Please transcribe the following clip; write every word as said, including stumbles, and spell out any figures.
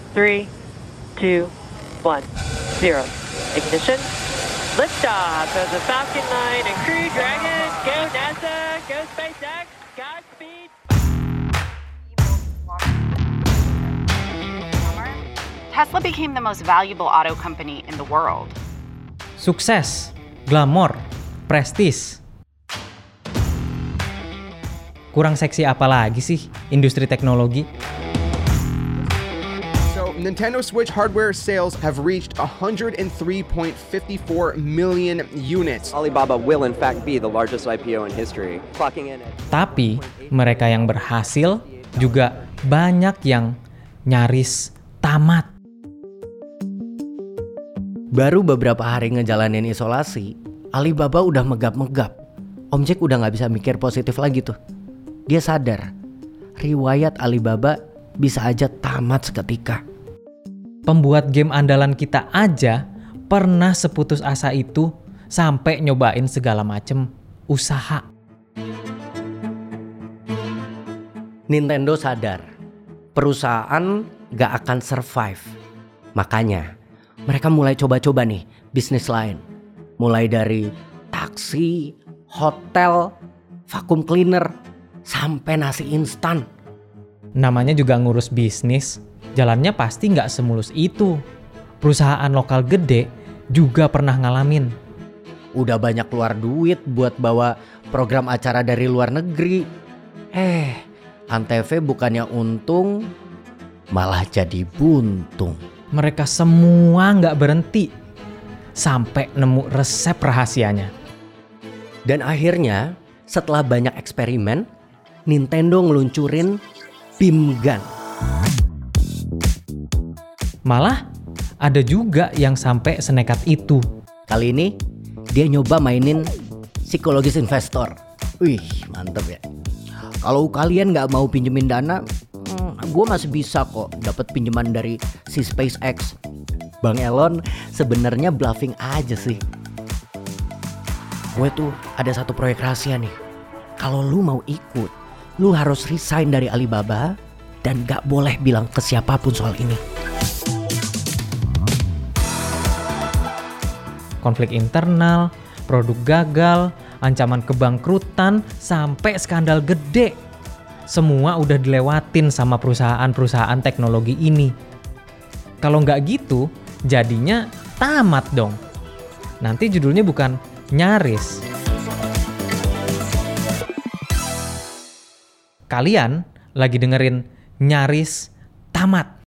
three, two, one, zero. Ignition. Liftoff of the Falcon nine and Crew Dragon. Go NASA, go SpaceX, Godspeed. Tesla became the most valuable auto company in the world. Sukses, glamor, prestis. Kurang seksi apa lagi sih industri teknologi? So, Nintendo Switch hardware sales have reached one hundred three point five four million units. Alibaba will in fact be the largest I P O in history, clocking in at... Tapi mereka yang berhasil juga banyak yang nyaris tamat. Baru beberapa hari ngejalanin isolasi, Alibaba udah megap-megap. Om Jack udah gak bisa mikir positif lagi tuh. Dia sadar, riwayat Alibaba bisa aja tamat seketika. Pembuat game andalan kita aja pernah seputus asa itu sampai nyobain segala macem usaha. Nintendo sadar, perusahaan gak akan survive. Makanya, mereka mulai coba-coba nih bisnis lain. Mulai dari taksi, hotel, vacuum cleaner, sampai nasi instan. Namanya juga ngurus bisnis, jalannya pasti nggak semulus itu. Perusahaan lokal gede juga pernah ngalamin. Udah banyak keluar duit buat bawa program acara dari luar negeri. Eh, Antv bukannya untung, malah jadi buntung. Mereka semua nggak berhenti sampai nemu resep rahasianya. Dan akhirnya, setelah banyak eksperimen, Nintendo ngeluncurin beam gun. Malah ada juga yang sampai senekat itu. Kali ini dia nyoba mainin psikologis investor. Wih, mantep ya. Kalau kalian nggak mau pinjemin dana, hmm, gue masih bisa kok dapat pinjaman dari si SpaceX. Bang Elon sebenarnya bluffing aja sih. Gue tuh ada satu proyek rahasia nih. Kalau lu mau ikut, lu harus resign dari Alibaba dan gak boleh bilang ke siapapun soal ini. Konflik internal, produk gagal, ancaman kebangkrutan, sampai skandal gede. Semua udah dilewatin sama perusahaan-perusahaan teknologi ini. Kalau nggak gitu, jadinya tamat dong. Nanti judulnya bukan nyaris. Kalian lagi dengerin Nyaris Tamat.